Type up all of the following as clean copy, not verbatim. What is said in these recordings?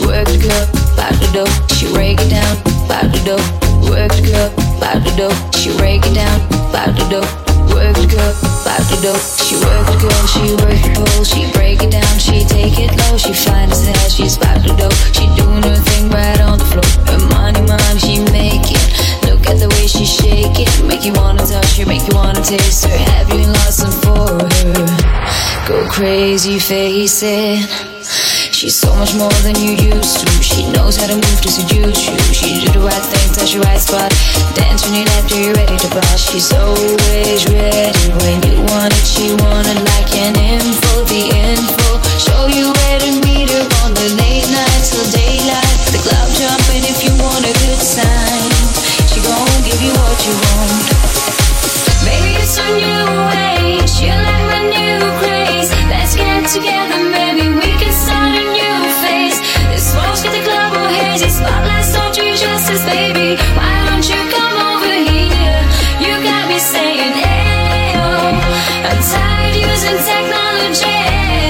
work the girl, pop the dough, she break it down, pop the dough, work the girl, pop the dough, she break it down, pop the dough, work the girl, pop the dough, she work the girl, she work the pole, she break it down, she take it low, she fine as hell, she's pop the dough, she doing her thing right on the floor, her money, she make it, look at the way she shake it, make you wanna touch her, make you wanna taste her, have you lost some for her, go crazy, face it. She's so much more than you used to. She knows how to move to seduce you. She do the right thing, touch the right spot. Dance when you're left, you're ready to bust. She's always ready when you want it. She want it like an info, the info. Show you where to meet her on the late nights till daylight. The club jumping if you want a good time. She gon' give you what you want. Baby, it's a new age. You like my new craze. Let's get together, baby. We can start a new phase. This smoke's got the club all hazy. Spotlights don't do justice, baby. Why don't you come over here? You got me saying, ayo. I'm tired using technology.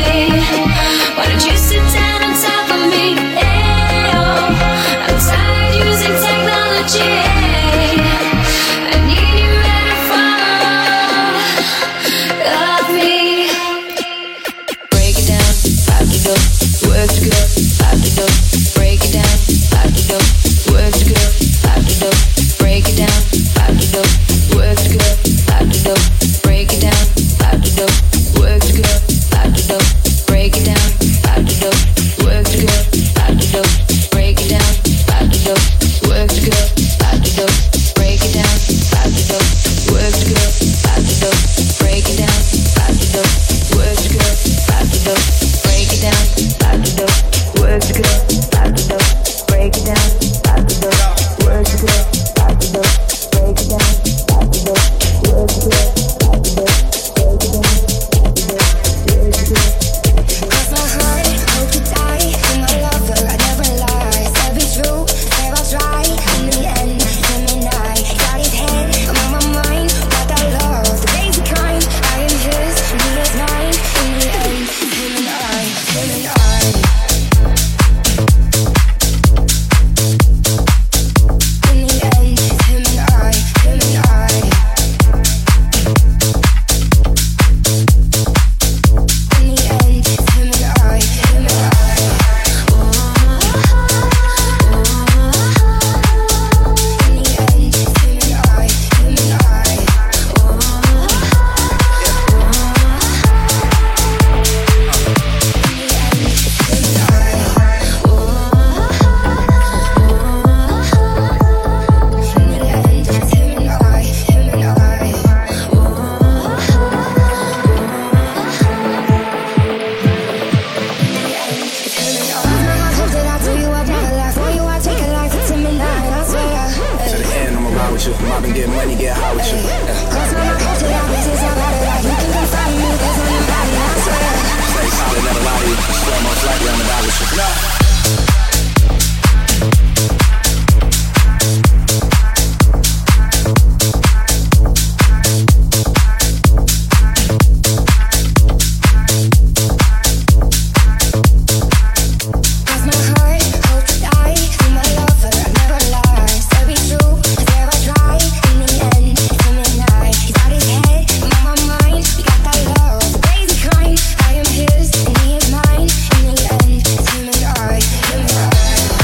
Why don't you sit down on top of me? Ayo. I'm tired using technology. I need you at the front of me. Break it down, pop the dough, work the girl, pop the dough. Break it down, pop the dough, work the girl, pop the dough. Break it down, pop the dough, work the girl, pop the dough. Break it down, pop the dough, work the girl, pop the dough. Break it down, pop the dough, work the girl, pop the dough. Break it down, pop the dough, work the girl, pop the dough. Break it down, pop the dough, work the girl, pop the dough. Break it down, pop the dough, work the girl, pop the dough. Break it down, pop the dough, work the girl, pop the dough. Break it down, pop the dough, work the girl, pop the dough. Break it down, pop the dough, work the girl, pop the dough. Break it down, pop the dough, work the girl. Cross my heart, hope to die. You're my lover, I never lie. Said be true, said I'll try. In the end, him and I got his head, I'm on my mind. Got that love, the crazy kind. I am his, and he is mine. In the end, him and I, him and I. In the end, him and I, him and I. In the end, him and I, him and I. In the end, him and I, him and I. To the end, I'ma ride with you. I've been getting money, get high with you. Stay solid, never lie to you. Swear most likely I'ma die with you. Cross my heart, hope to die. You're my lover, I never lie. Said be true, said I'll try. In the end, him and I. He got his head, I'm on my mind. We got that love, the crazy kind. I am his, and he is mine. In the end, him and I, him and I.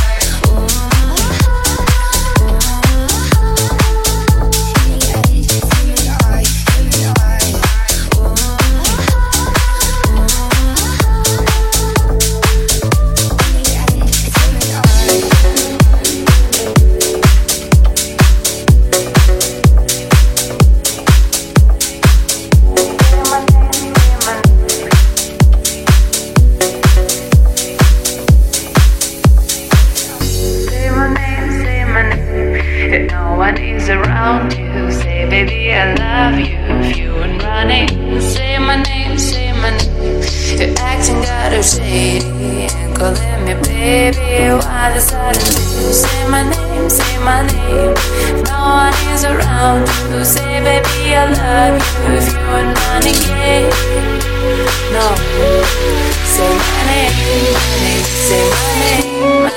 No one is around you. Say, baby, I love you. If you ain't running, say my name, say my name. You're acting kind of shady and calling me baby. Why the sudden you say my name, say my name? No one is around you. Say, baby, I love you. If you ain't running, yeah. No, say my name, say my name.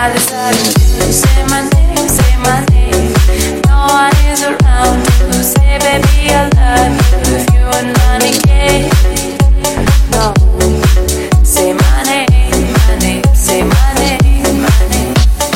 I decided to say my name, say my name. No one is around to say, baby, I love you. If you are not engaged, no. Say my name, my name, say my name, my name.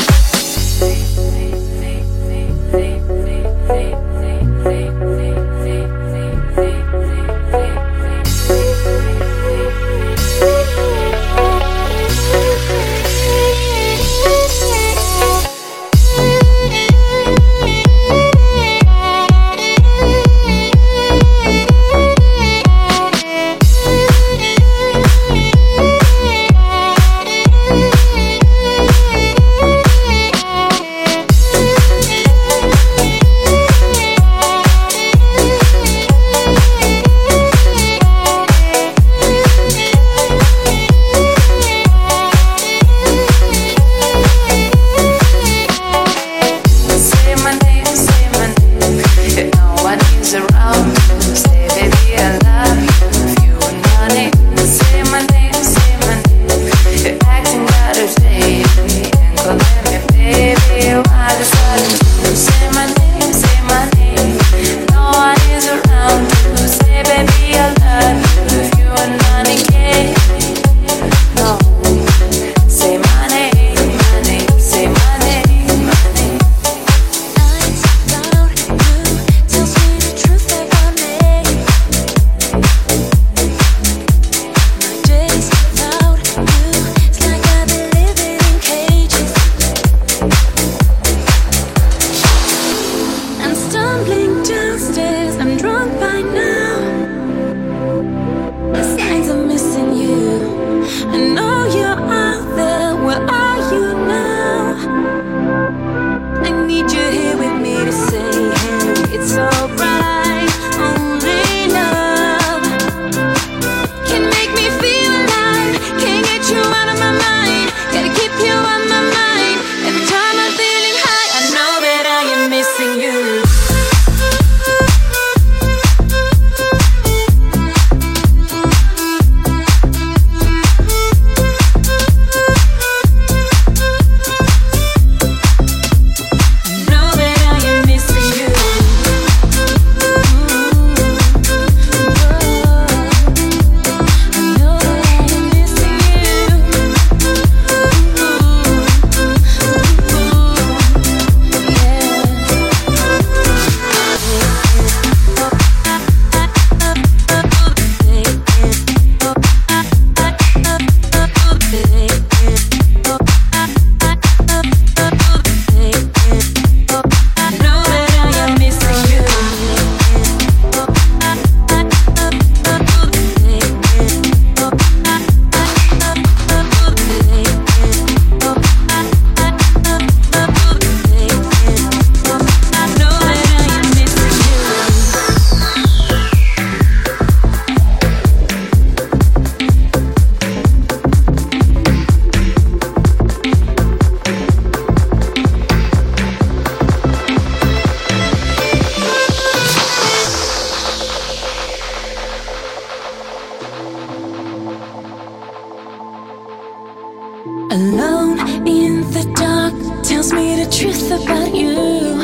Alone in the dark tells me the truth about you.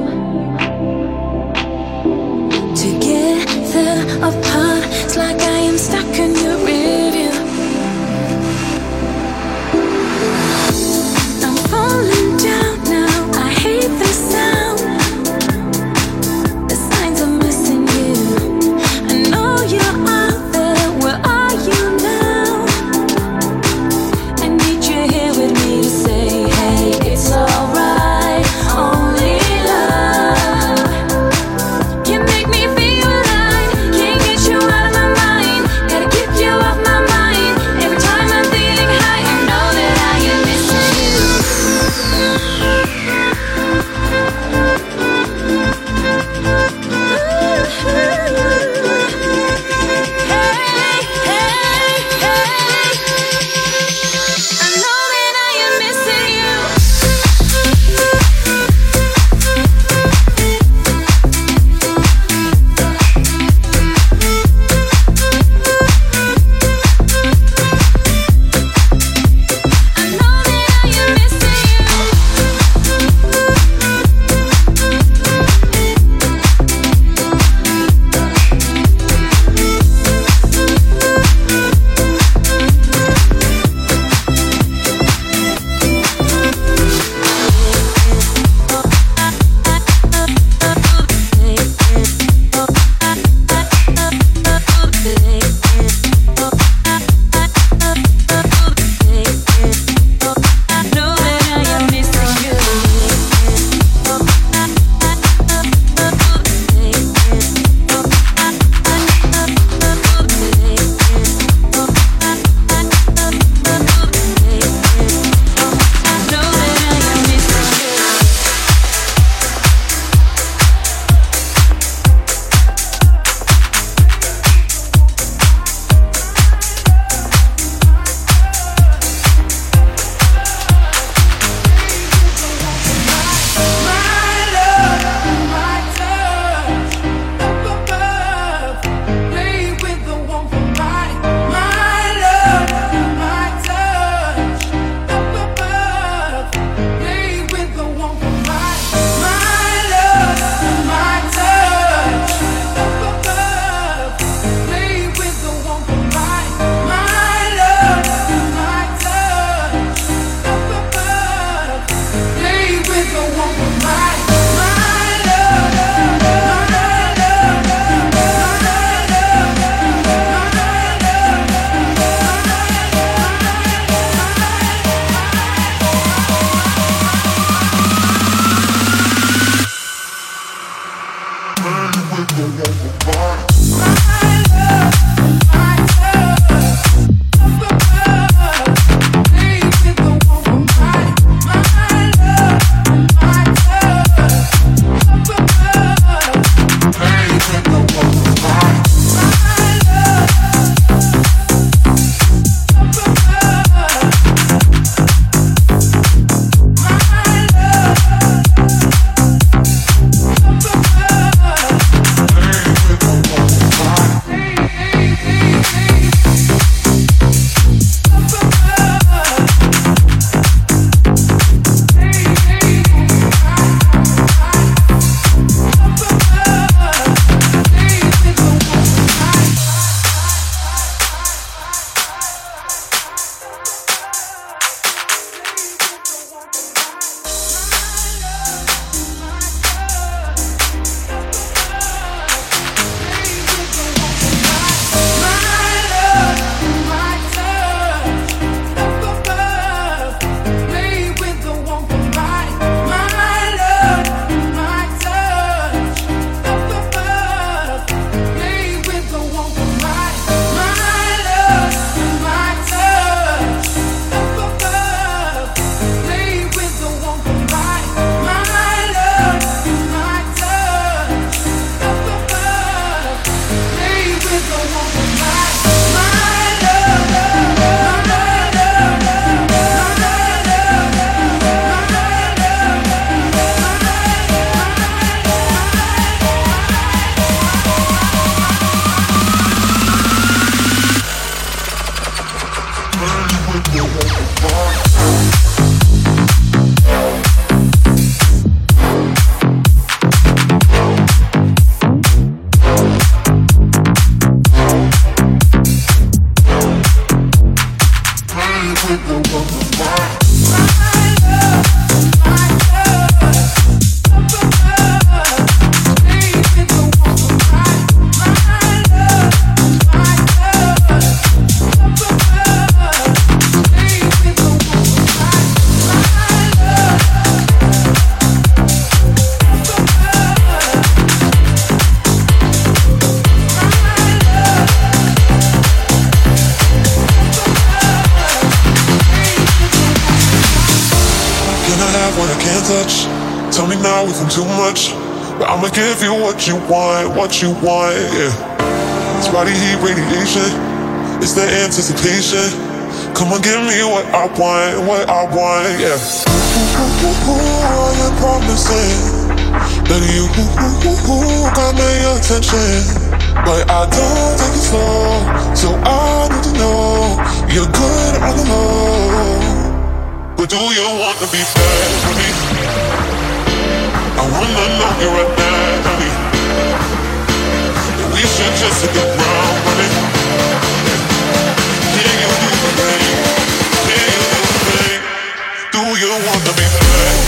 Together apart, it's like I am stuck in your rearview. I'm falling down now, I hate the sound. The signs are missing you. I know you're out there, where are you now? I need you here with me to say, hey, it's alright, only love can make me feel alive. Can't get you out of my mind. Tell me now if I'm too much, but I'ma give you what you want, yeah. It's body heat radiation, it's the anticipation. Come on, give me what I want, yeah. You're promising that you got my attention, but I don't take it slow, so I need to know you're good on the low. But do you want to be bad with me? I wanna know you right now, honey. We should just hit the ground running. Can you do the thing? Can you do the thing? Do you wanna be bad?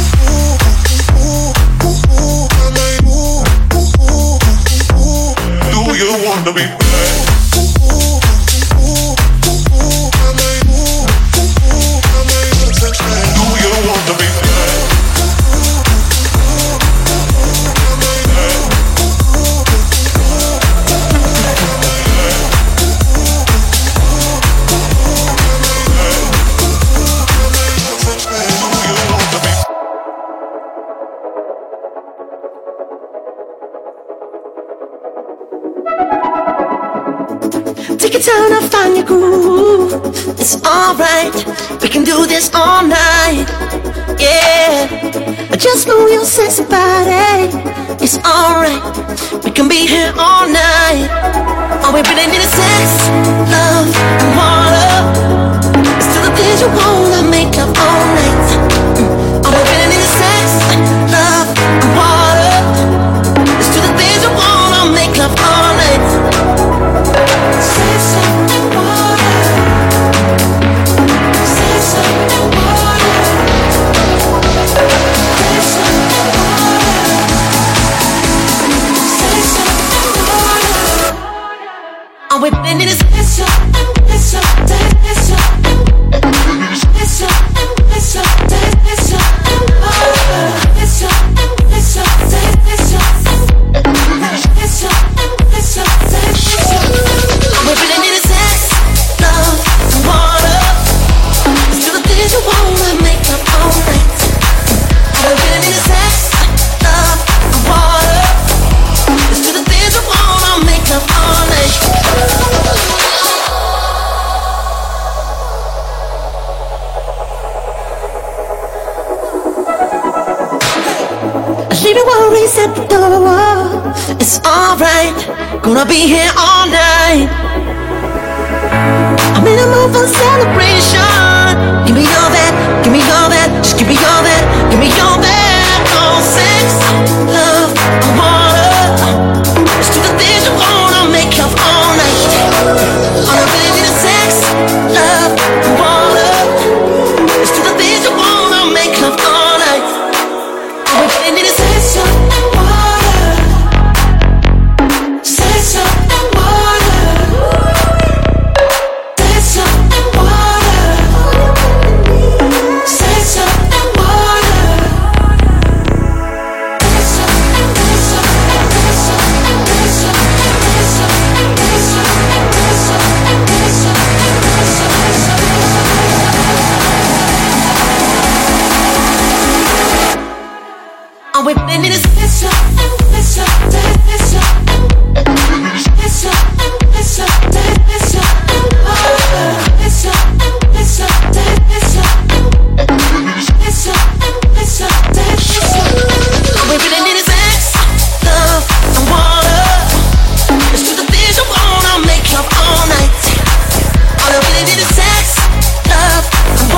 Do you wanna be bad? Do you wanna be bad? Take your time to find your groove. It's alright, we can do this all night. Yeah, just move your sexy body. It's alright, we can be here all night. All we really need is sex, love, and water. It's still the things you wanna make up all night. All we really need is sex, love, and water. It's still the things you wanna make up all night. Sex and water. Sex and water. Sex and water. Sex and water. All we really need is sex and sex and sex and sex and sex and water. Sex and sex and we really need is sex, love, and water. It's still the things you wanna make up all night. We really need is sex, love, and water. It's still the things you wanna make up all night. Leave your worries at the door. It's alright, gonna be here all night. I'm in a mood for celebration. Give me all that, give me all that. Just give me all that, give me all that. Oh, sex, love, and water. It's to the things you wanna make up all night. All I really need is sex, love, and water. It's to the things you wanna make up all night. All I really need is sex, and water. Sex, and water. Sex and water. Sex and water. All we really need is sex and all we really need is sex, love, and water. It's to the things you wanna make up all night. All I really need is sex, love, and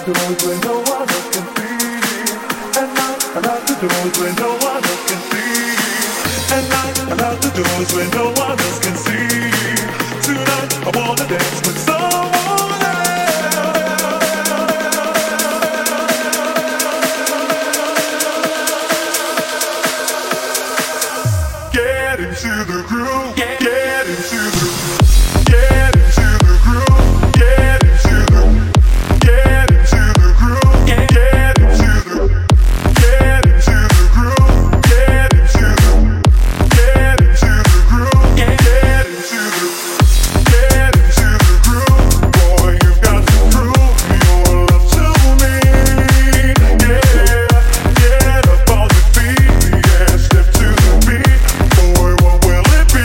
doors where no one else can see. At night, I lock the doors where no one else can see. At night, I lock the doors where no one else can see. Tonight, I wanna dance with someone else. Get into the groove. Get into the groove. Get into the groove. Get into the get into the groove. Get into the get into the groove. Get into the get into the groove. Get into the get into the groove. Boy, you've got to prove your love to me. Yeah, get up on your feet. Yeah, step to the beat. Boy, what will it be?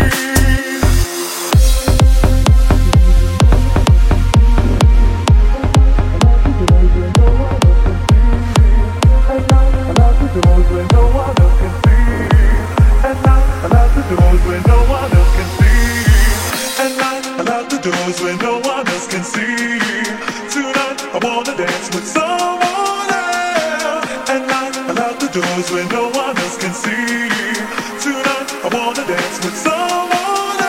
Doors where no one else can see. At night, I lock the doors where no one else can see. At night, I lock the doors where no one else can see. Tonight, I wanna dance with someone else. At night, I lock the doors where no one else can see. Tonight, I wanna dance with someone else.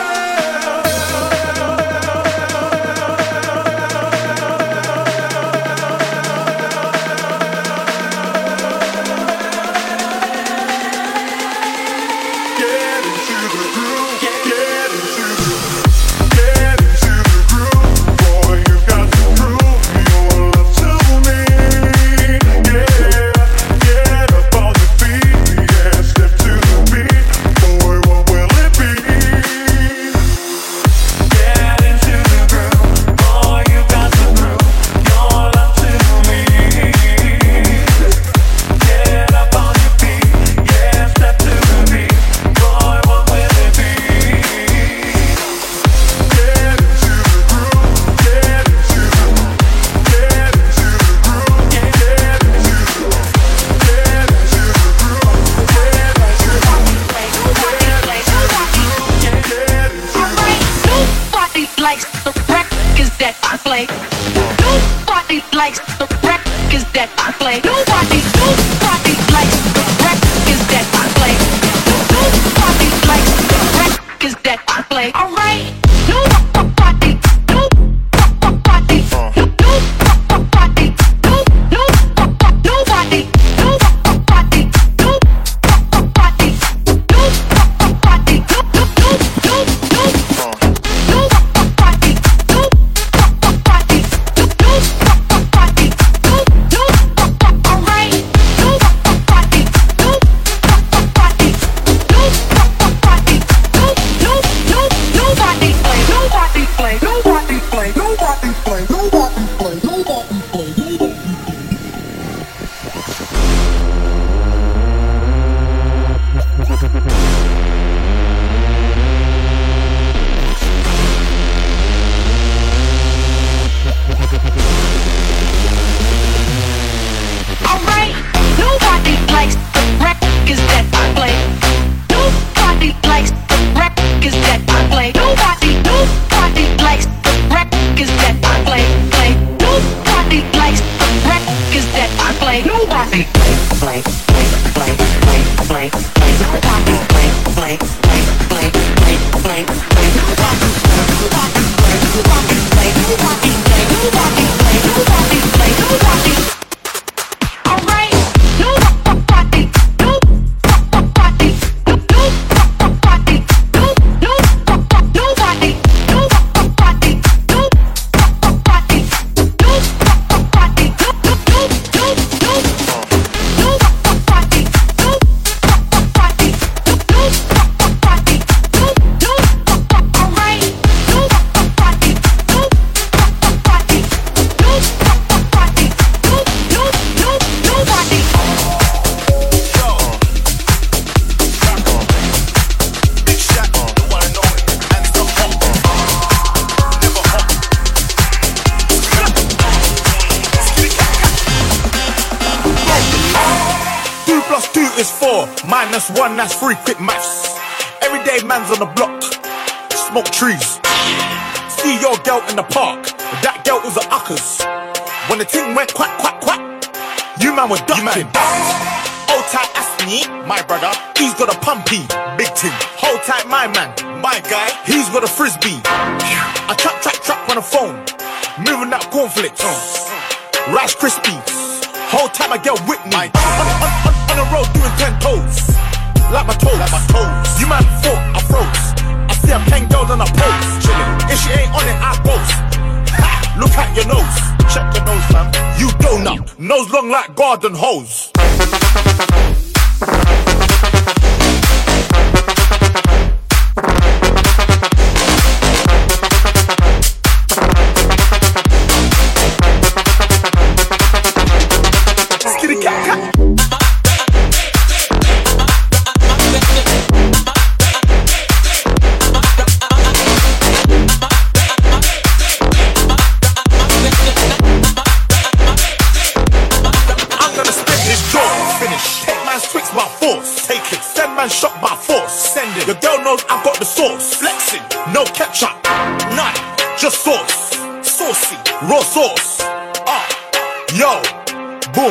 Get into the groove. Get into the get into the groove. Boy, you've got to prove your love to me. Yeah, get up on your feet. Yeah, step to the beat. Boy, what will it be? Get into the groove. Boy, you've got to prove your love to me. Get up on your feet. Yeah, step to the beat. Boy, what will it be? Get into the groove. Get into the get into the groove. Get into the get into the groove. Get into the Nobody likes the records that I play. Nobody likes the records that I play. Nobody likes the records that I play. Nobody likes the records that I play. Alright. Nobody, nobody, nobody, nobody, nobody, nobody, is 4, minus 1, that's 3, quick maths. Everyday man's on the block, smoke trees. See your girl in the park, that girl was a uckers. Wanna the ting went quack, quack, quack, you man were ducking. Hold tight, Asney, my brother, he's got a pumpy, big ting. Hold tight, my man, my guy, he's got a frisbee. I trap on the phone, moving that cornflakes, Rice Krispies. Whole time I get with me. On the road doing 10 toes, like my toes. You man thought I froze. I see a pen girl on a pose, chillin'. If she ain't on it, I boast. Ha! Look at your nose, check your nose, fam. You donut, nose long like garden hose. Shot by force, send it. Your girl knows I've got the sauce. Flexing, no ketchup, none, just sauce. Saucy, raw sauce. Yo, boom.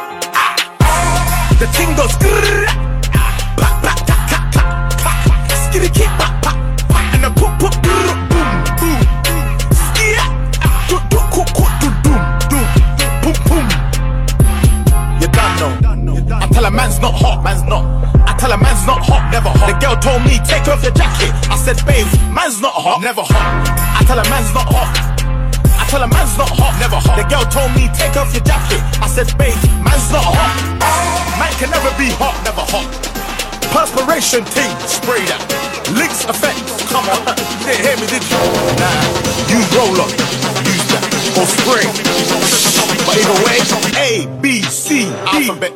The ting goes grrr. Back, back, tack, tack, tack, tack. Skitty kick, back, back, back. And then put, grrr, boom, boom, boom. Skia, do, cook, do, doom, boom, boom. You done know. I tell a man's not hot, man's not. I tell a man's not hot, never hot. The girl told me, take off your jacket. I said, babe, man's not hot, never hot. I tell a man's not hot. I tell a man's not hot, never hot. The girl told me, take off your jacket. I said, babe, man's not hot. Man can never be hot, never hot. Perspiration team, spray that. Links effect, come on. You didn't hear me, did you? Nah, use roll-up, use that. Or spray. But either way, A, B, C, alphabet.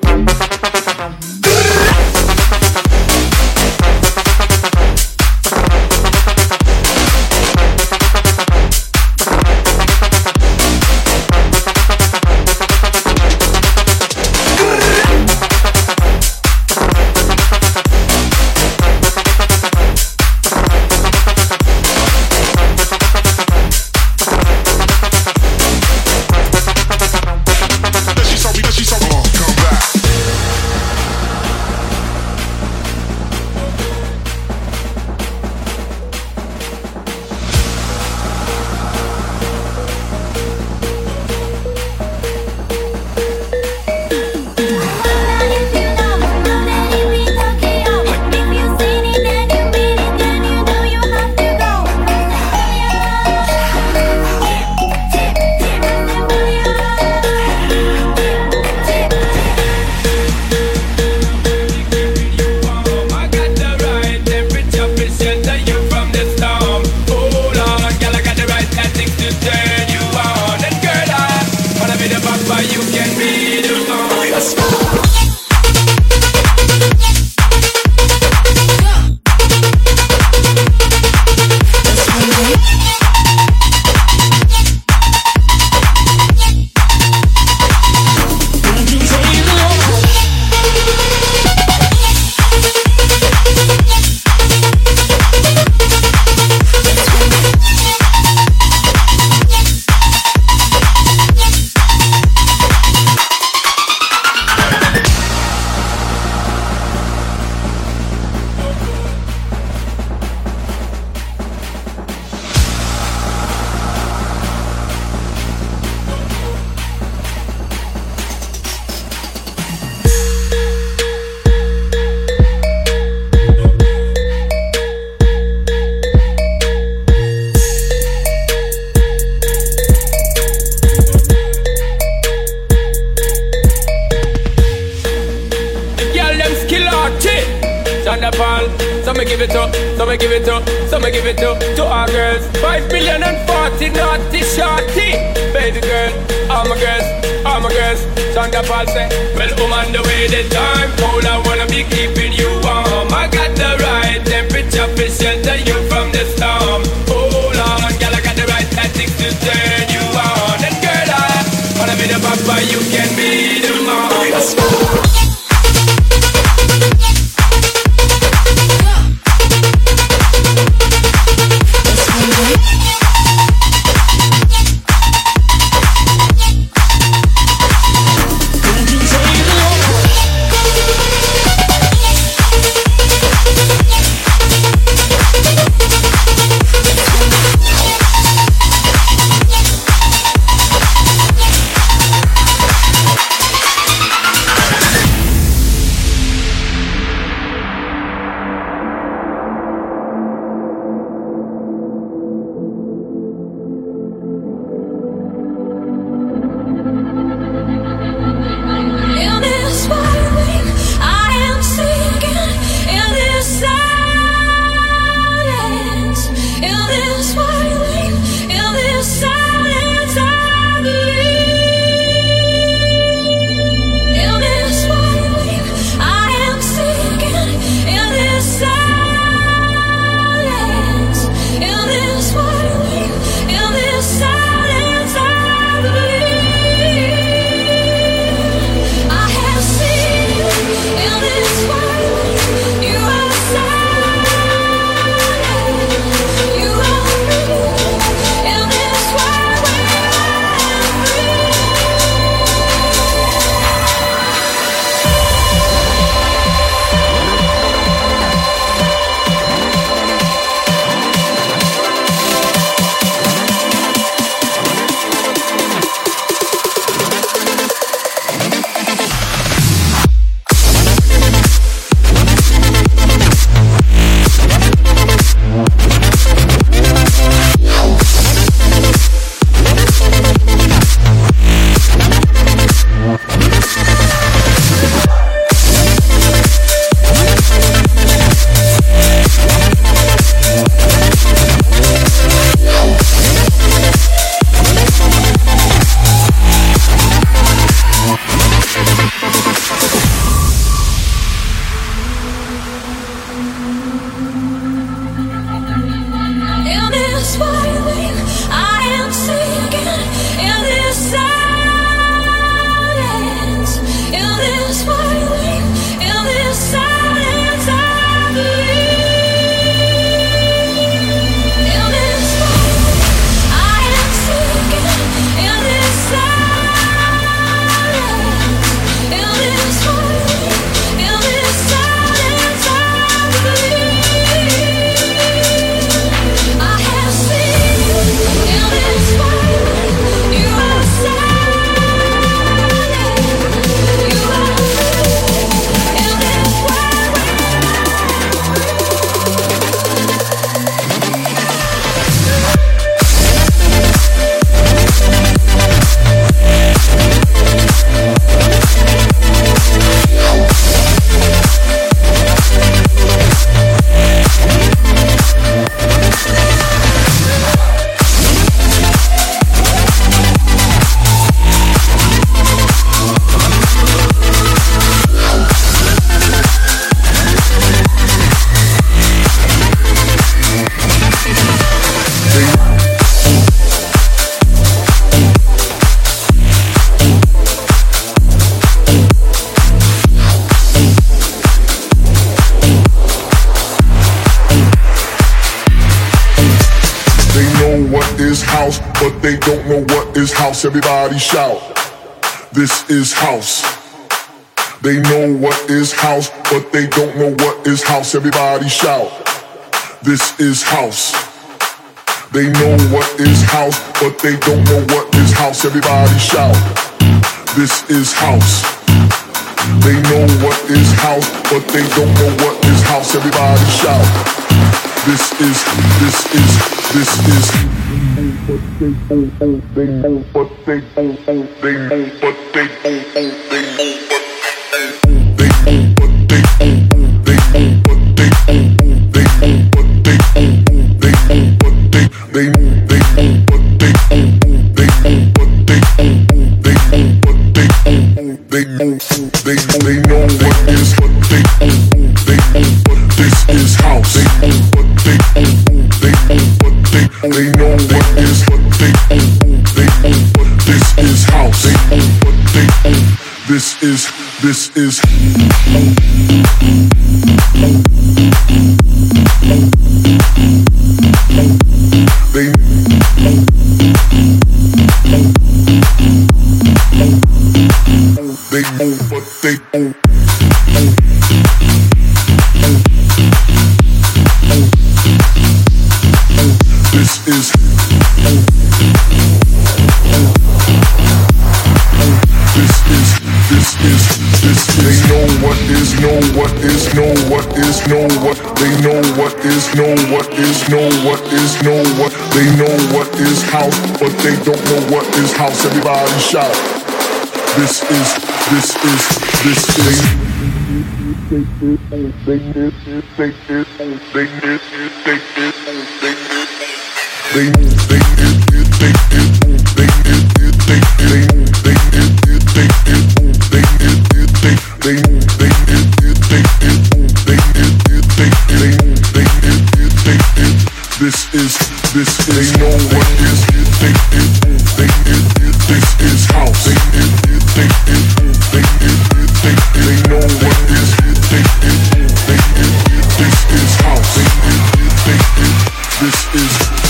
To our girls, 5 million and 40 naughty shorty. Baby girl, all my girls, Shonda Paul say, well, on the way the time cold, I wanna be keeping you warm. I got the right temperature to shelter you from the storm. Hold on, girl, I got the right tactics to turn you on. And girl, I wanna be the papa, you can be the mom. Let's go. they don't know what is house. Everybody shout. This is house. They know what is house, but they don't know what is house. Everybody shout. This is house. They know what is house, but they don't know what is house. Everybody shout. This is house. They know what is house, but they don't know what is house. Everybody shout. This is. They know what they this is house. They know what is this is house. This is they know what they this is they know what is know what is know what is know what they know what is know what is know what is know what they know what is house, but they don't know what is house. Everybody shout. This is they know what is this is house. They know what is this is house. This is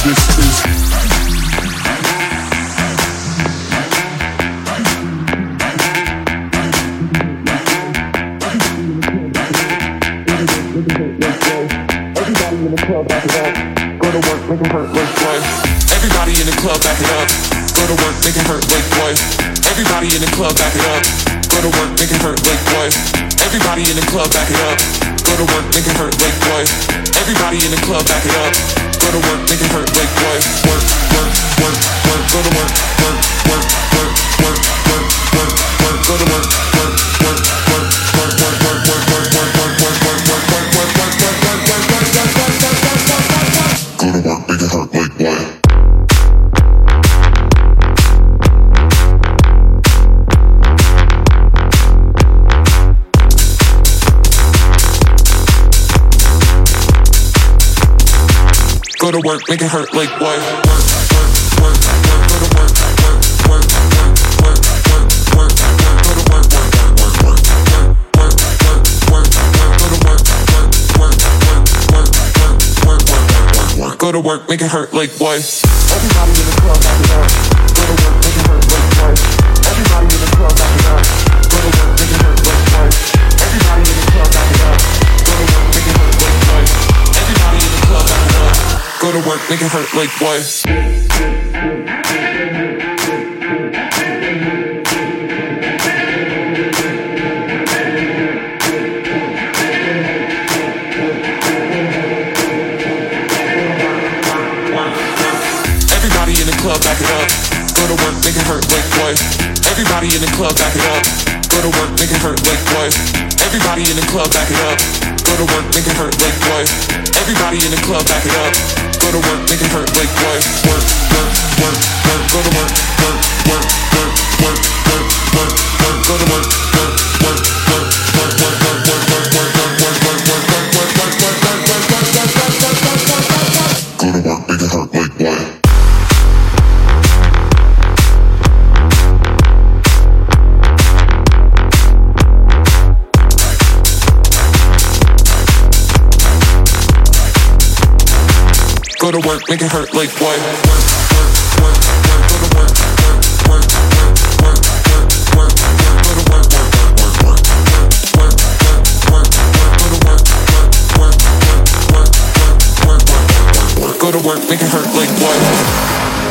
everybody in the club back it up. Go to work, make 'em hurt like boy. Everybody in the club back it up. Go to work, make 'em hurt like boy. Everybody in the club back it up. Go to work, make 'em hurt like boy. Everybody in the club back it up. Go to work, make 'em hurt like boy. Everybody in the club back it up. Go to work, make 'em hurt like boy. Work. Go to work. Go to work. Go to work, make it hurt like boy. Go to work, make it hurt like boy. Work. Go to work. Go to work, make it hurt like boy. Everybody in the club back it up. Go to work, make it hurt like boy. Everybody in the club back it up. Go to work, make it hurt like boy. Everybody in the club back it up. Go to work, make it hurt like boy. Everybody in the club back it up. Go to work, make it hurt like boy. Club, back it up. Go to work, make it hurt like boy. Everybody in the club, back it up. Go to work, make it hurt like boy. Everybody in the club, back it up. Go to work, make it hurt like boy. Everybody in the club, back it up. Go to work, make it hurt like boy. Work. Go to work. Go to work. Go to work, make it hurt like boy. Go to work, make it hurt like boy. Work. work, make it hurt like what?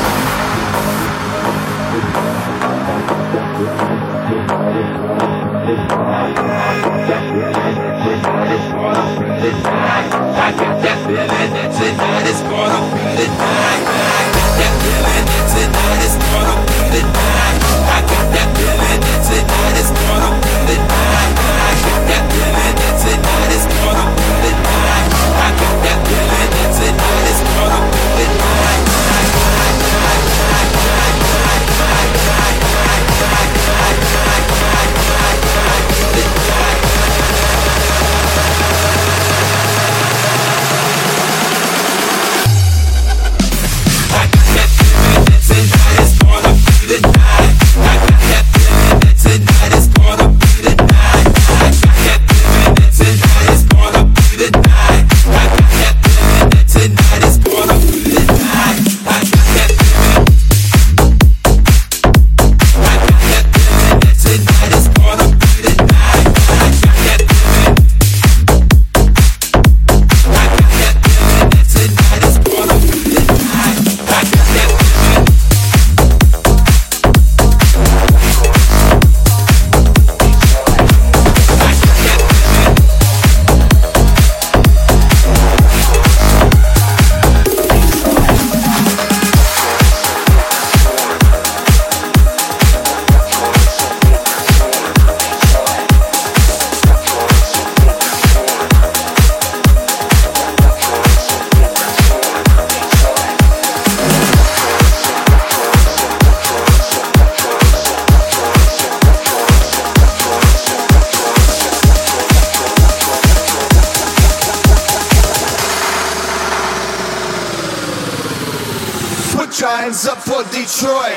Hands up for Detroit,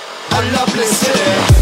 a lovely city.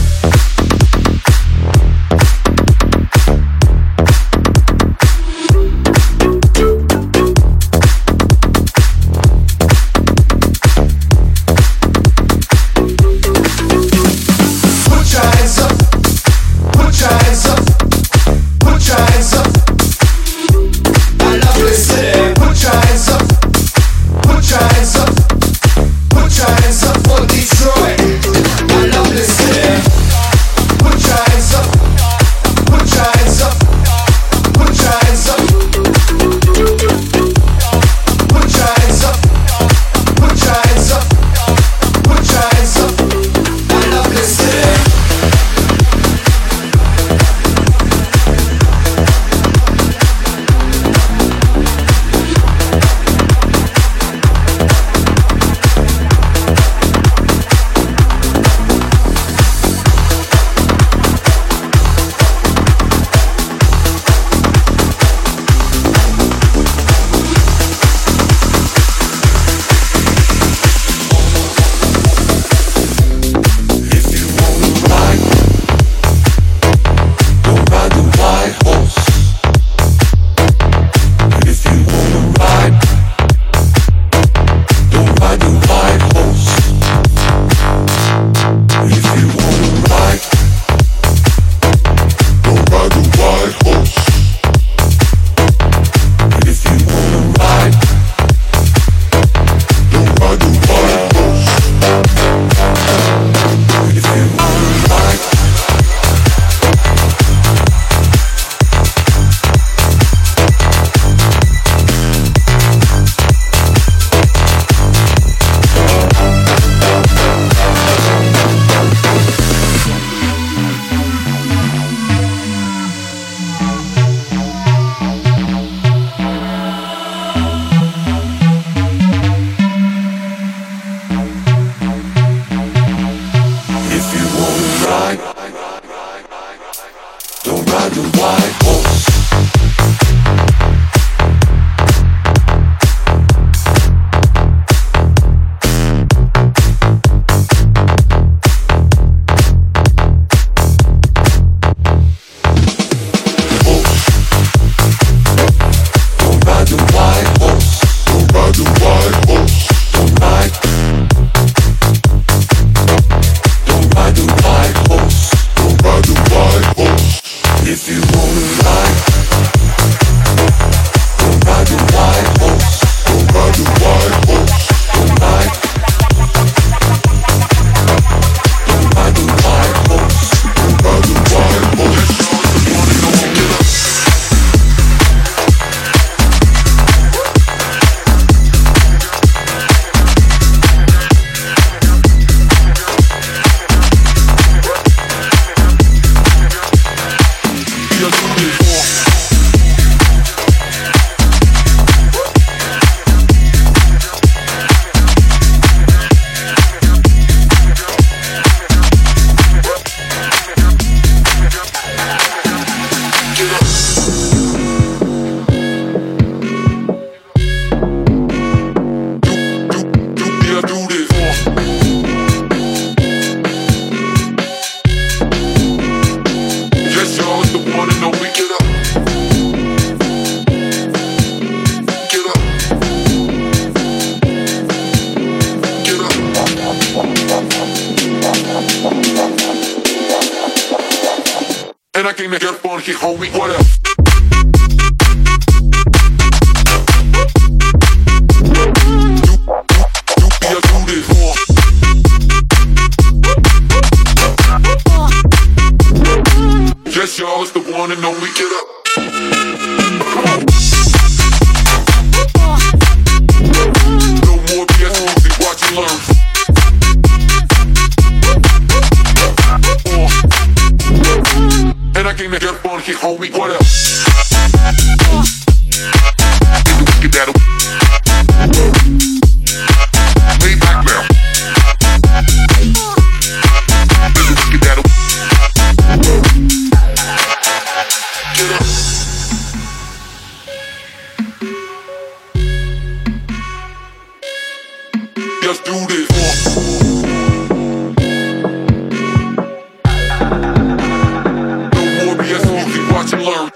If you wanna ride And I came to get funky, homie, what up? Yes, y'all, it's the one and only. Get up. No more BS music, watch and learn. And I came to get funky, homie, what up? Get that lay back now. Get that. Get up. Let's do this. No more BS music, watch and learn.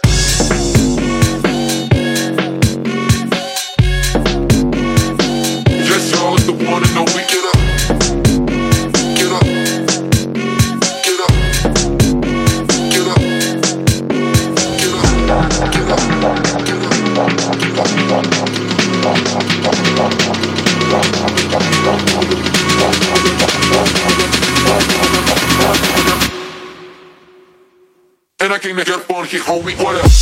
Yes, y'all, it's the one and only. Get up. Get up. Get up. Get up. Get up. Get up. And I came to get funky, homie, what up?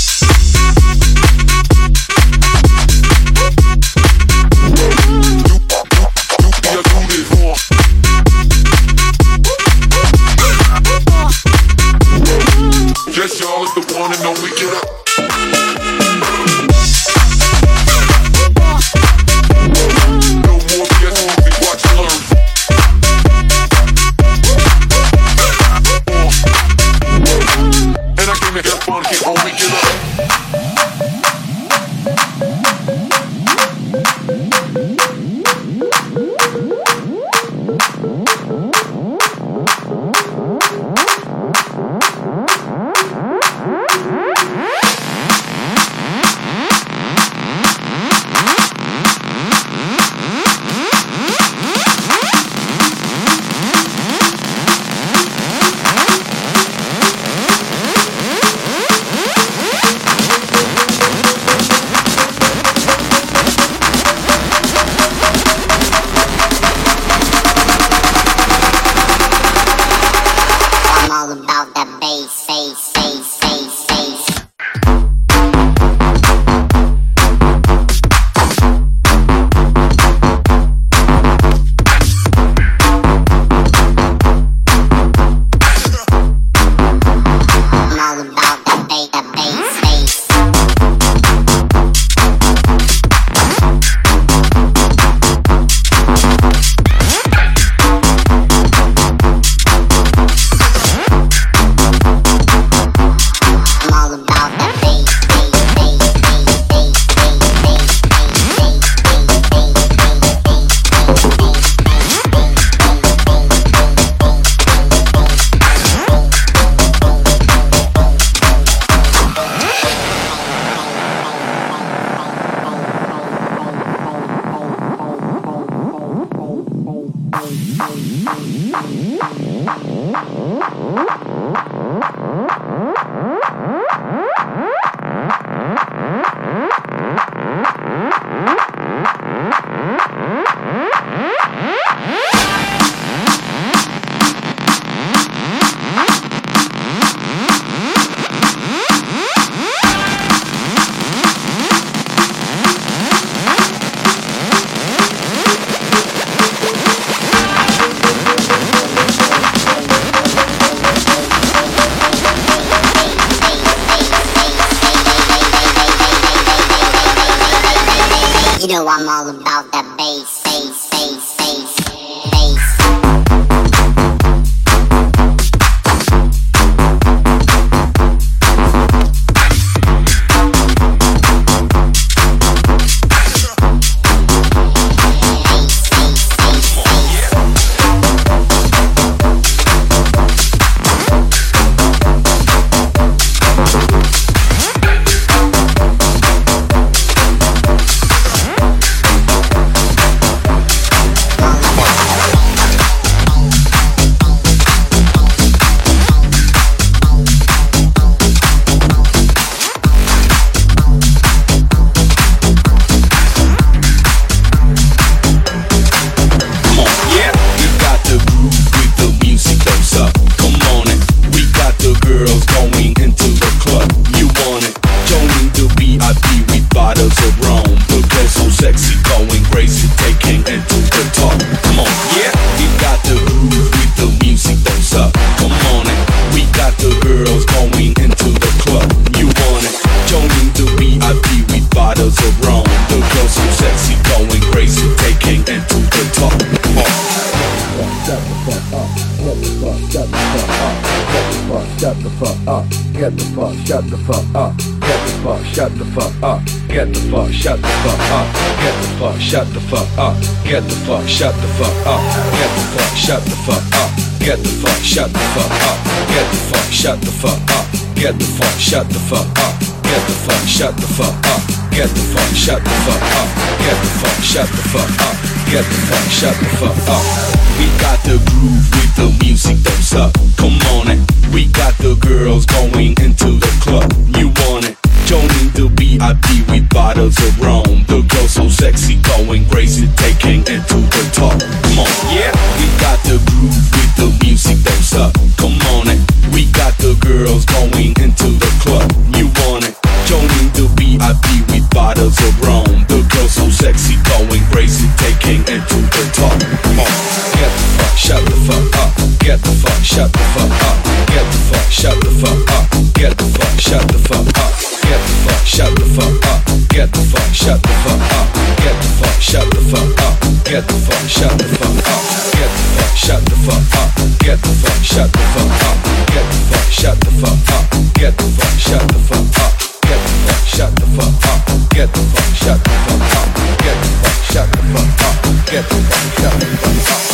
Yes, y'all, it's the one and only. Get up. No more BS music, watch and learn. And I came to get funky, homie, get up. You know I'm all about that bass, bass, bass, bass, bass. shut the fuck up. Get the fuck, shut the fuck up. Get the fuck, shut the fuck up. Get the fuck, shut the fuck up. Get the fuck, shut the fuck up. Get the fuck, shut the fuck up. Get the fuck, shut the fuck up. Get the fuck, shut the fuck up. Get the fuck, shut the fuck up. Get the fuck, shut the fuck up. Get the fuck, shut the fuck up. Get the fuck, shut the fuck up. Get the fuck, shut the fuck up. Get the fuck, shut the fuck up. We got the groove with the music that's up. Come on it. We got the girls going into the club. You want it? Joining the VIP with bottles of rum. The girls so sexy, going crazy, taking it to the top. Come on, yeah. We got the groove with the music that's up. Come on it. We got the girls going into the club. You want it? Joining the VIP with bottles of rum. The girls so sexy, going crazy, taking it to the top. Come on. Get the fuck, shut the fuck up. Get the fuck, shut the fuck up. Get the fuck, shut the fuck up. Get the fuck, shut the fuck up. Get the fuck, shut the fuck up. Get the fuck, shut the fuck up. Get the fuck, shut the fuck up. Get the fuck, shut the fuck up. Get the fuck, shut the fuck up. Get the fuck, shut the fuck up. Get the fuck, shut the fuck up. Get the fuck, shut the fuck up. Get the fuck, shut the fuck up. Get the fuck, shut the fuck up. Get the fuck, shut the fuck up. Get the fuck, shut the fuck up.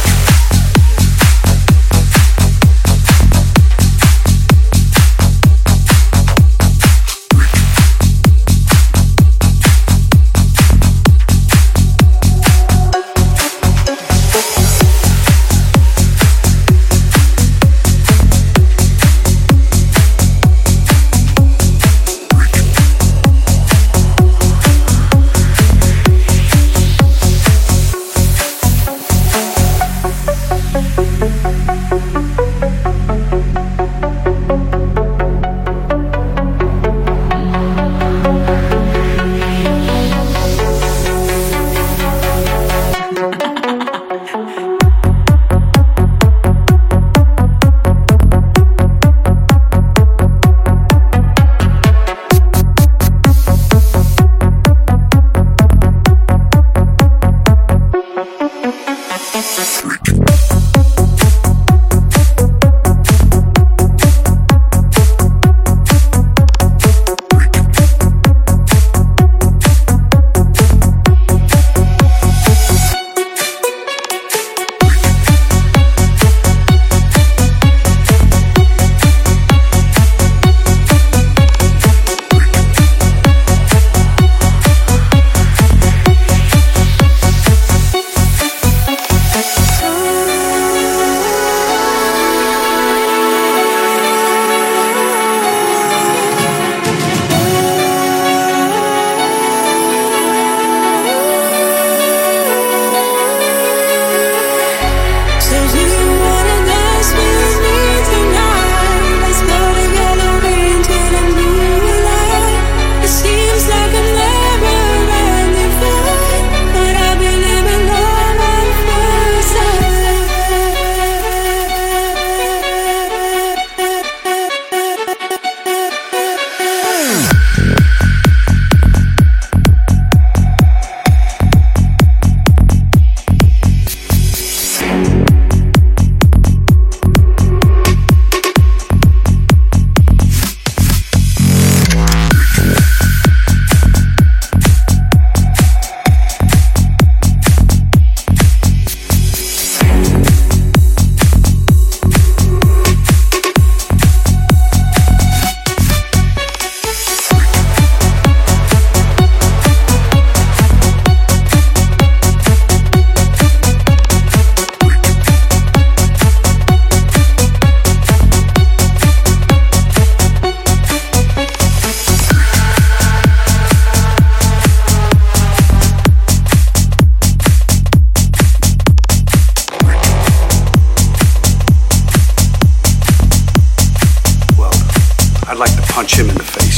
punch him in the face.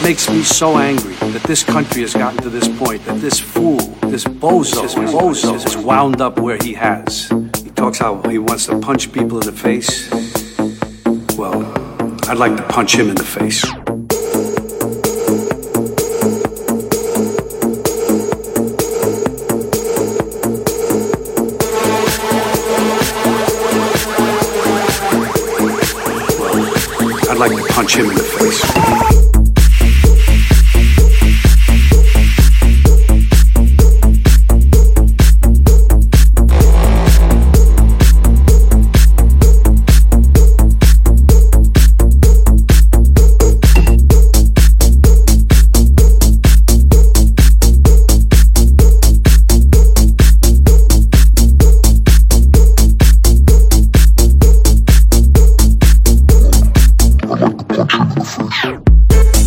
makes me so angry that this country has gotten to this point, that this fool, this bozo is wound up where he has. He talks how he wants to punch people in the face. Well, I'd like to punch him in the face. I'd like to punch him in the face. I like to punch him in the face.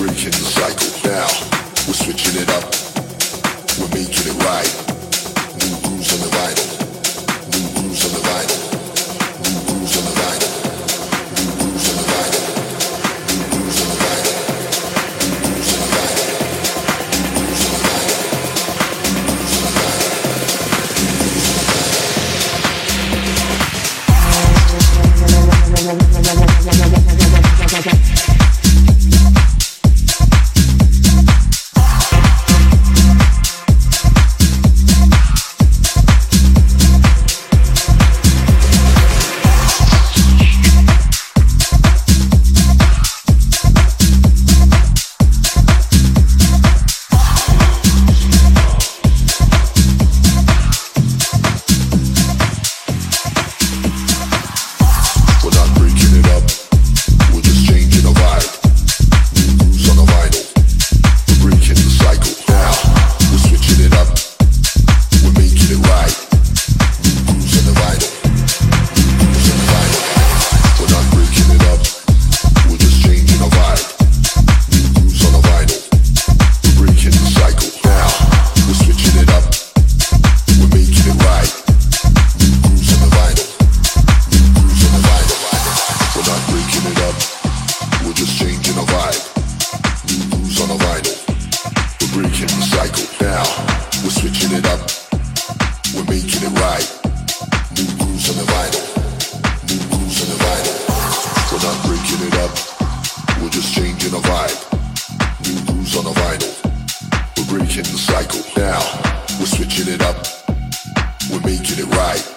breaking the cycle. Now we're switching it up. We're making it right. New grooves on the vinyl. New grooves on the vinyl. New grooves on the vinyl. New grooves on the vinyl. New grooves on the vinyl. New grooves on the vinyl. New grooves on the vinyl. New grooves on the vinyl. We're breaking the cycle now. We're switching it up. We're making it right.